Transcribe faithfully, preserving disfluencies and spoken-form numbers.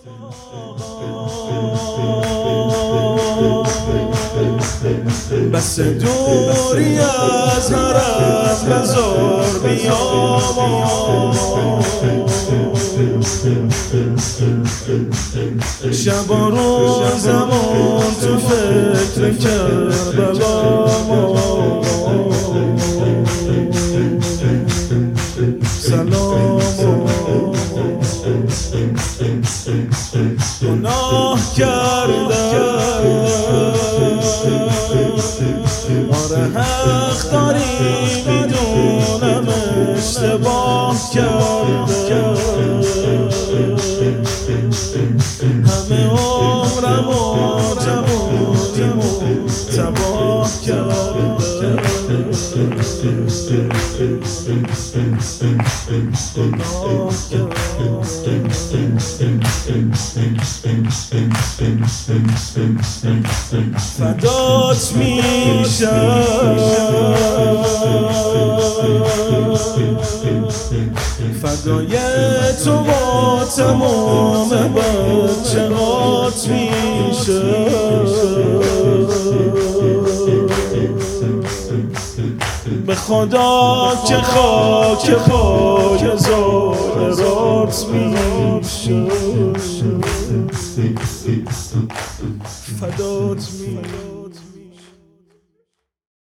بس دوری از حرم بزار بیام شب و روزمون تو فکر کربلام سلام گناه کردم آره حق داری میدونم اشتباه کردم همه عمرم و جوونیمو تباه کردم گناه کردم فدات میشم فدای تو با تمام بچه هات میشم به خدا که خاک پای زارت میشم فدات میشم.